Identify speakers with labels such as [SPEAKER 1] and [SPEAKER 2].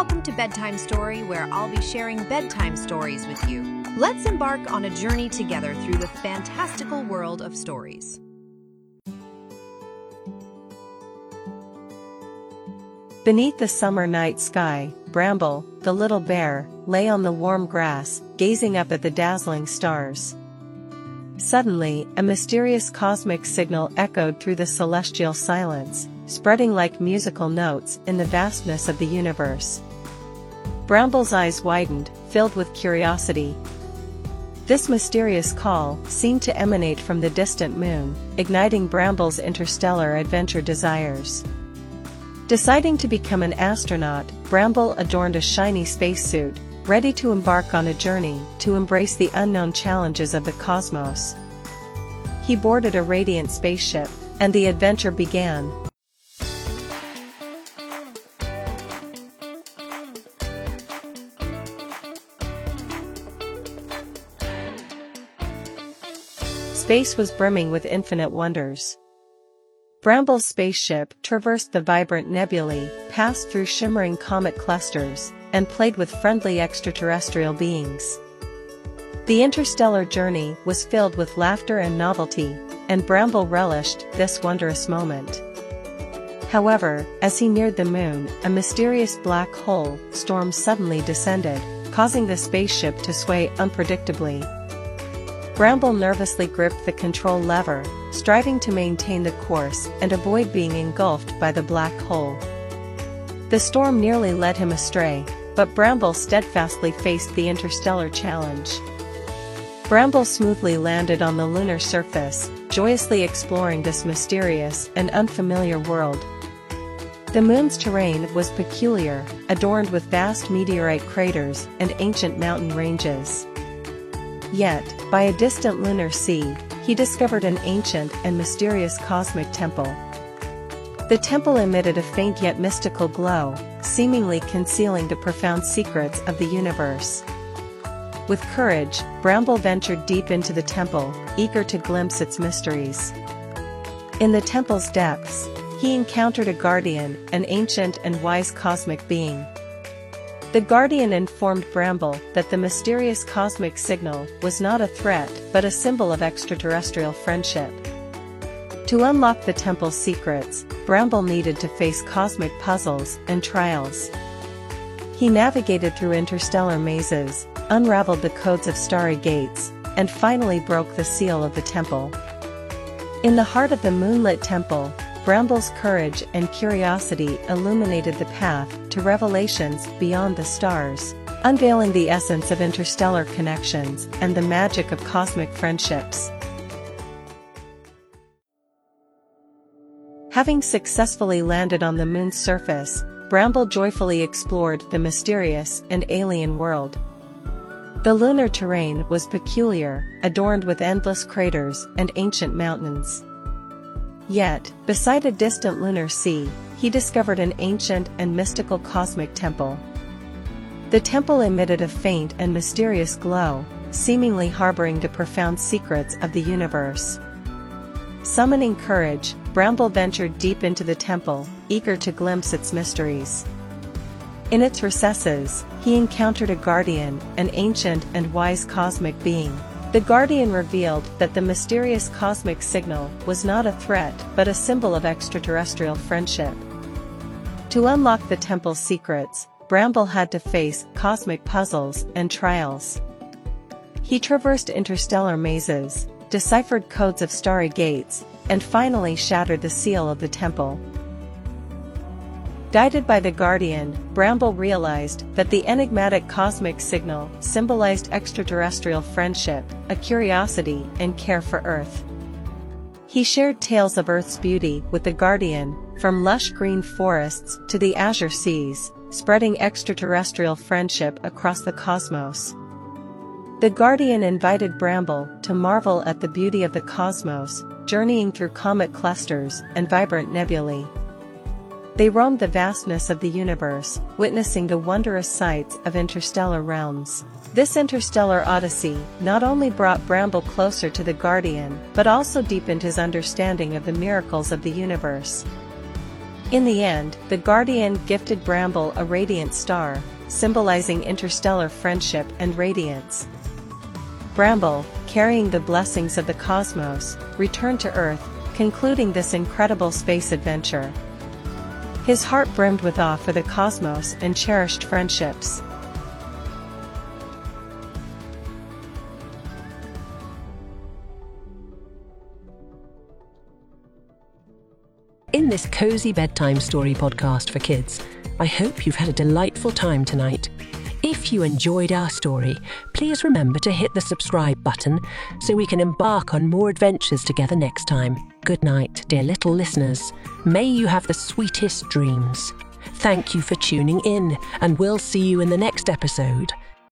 [SPEAKER 1] welcome to Bedtime Story, where I'll be sharing bedtime stories with you. Let's embark on a journey together through the fantastical world of stories.
[SPEAKER 2] Beneath the summer night sky, Bramble, the little bear, lay on the warm grass, gazing up at the dazzling stars. Suddenly, a mysterious cosmic signal echoed through the celestial silence, spreading like musical notes in the vastness of the universe. Bramble's eyes widened, filled with curiosity. This mysterious call seemed to emanate from the distant moon, igniting Bramble's interstellar adventure desires. Deciding to become an astronaut, Bramble adorned a shiny spacesuit, ready to embark on a journey to embrace the unknown challenges of the cosmos. He boarded a radiant spaceship, and the adventure began. Space was brimming with infinite wonders. Bramble's spaceship traversed the vibrant nebulae, passed through shimmering comet clusters, and played with friendly extraterrestrial beings. The interstellar journey was filled with laughter and novelty, and Bramble relished this wondrous moment. However, as he neared the moon, a mysterious black hole storm suddenly descended, causing the spaceship to sway unpredictably. Bramble nervously gripped the control lever, striving to maintain the course and avoid being engulfed by the black hole. The storm nearly led him astray, but Bramble steadfastly faced the interstellar challenge. Bramble smoothly landed on the lunar surface, joyously exploring this mysterious and unfamiliar world. The moon's terrain was peculiar, adorned with vast meteorite craters and ancient mountain ranges. Yet, by a distant lunar sea, he discovered an ancient and mysterious cosmic temple. The temple emitted a faint yet mystical glow, seemingly concealing the profound secrets of the universe. With courage, Bramble ventured deep into the temple, eager to glimpse its mysteries. In the temple's depths, he encountered a guardian, an ancient and wise cosmic being. The guardian informed Bramble that the mysterious cosmic signal was not a threat but a symbol of extraterrestrial friendship. To unlock the temple's secrets, Bramble needed to face cosmic puzzles and trials. He navigated through interstellar mazes, unraveled the codes of starry gates, and finally broke the seal of the temple. In the heart of the moonlit temple, Bramble's courage and curiosity illuminated the path to revelations beyond the stars, unveiling the essence of interstellar connections and the magic of cosmic friendships. Having successfully landed on the moon's surface, Bramble joyfully explored the mysterious and alien world. The lunar terrain was peculiar, adorned with endless craters and ancient mountains. Yet, beside a distant lunar sea, he discovered an ancient and mystical cosmic temple. The temple emitted a faint and mysterious glow, seemingly harboring the profound secrets of the universe. Summoning courage, Bramble ventured deep into the temple, eager to glimpse its mysteries. In its recesses, he encountered a guardian, an ancient and wise cosmic being. The guardian revealed that the mysterious cosmic signal was not a threat but a symbol of extraterrestrial friendship. To unlock the temple's secrets, Bramble had to face cosmic puzzles and trials. He traversed interstellar mazes, deciphered codes of starry gates, and finally shattered the seal of the temple. Guided by the guardian, Bramble realized that the enigmatic cosmic signal symbolized extraterrestrial friendship, a curiosity and care for Earth. He shared tales of Earth's beauty with the guardian, from lush green forests to the azure seas, spreading extraterrestrial friendship across the cosmos. The guardian invited Bramble to marvel at the beauty of the cosmos, journeying through comet clusters and vibrant nebulae. They roamed the vastness of the universe, witnessing the wondrous sights of interstellar realms. This interstellar odyssey not only brought Bramble closer to the Guardian, but also deepened his understanding of the miracles of the universe. In the end, the Guardian gifted Bramble a radiant star, symbolizing interstellar friendship and radiance. Bramble, carrying the blessings of the cosmos, returned to Earth, concluding this incredible space adventure. His heart brimmed with awe for the cosmos and cherished friendships.
[SPEAKER 3] In this cozy bedtime story podcast for kids, I hope you've had a delightful time tonight. If you enjoyed our story, please remember to hit the subscribe button so we can embark on more adventures together next time. Good night, dear little listeners. May you have the sweetest dreams. Thank you for tuning in, and we'll see you in the next episode.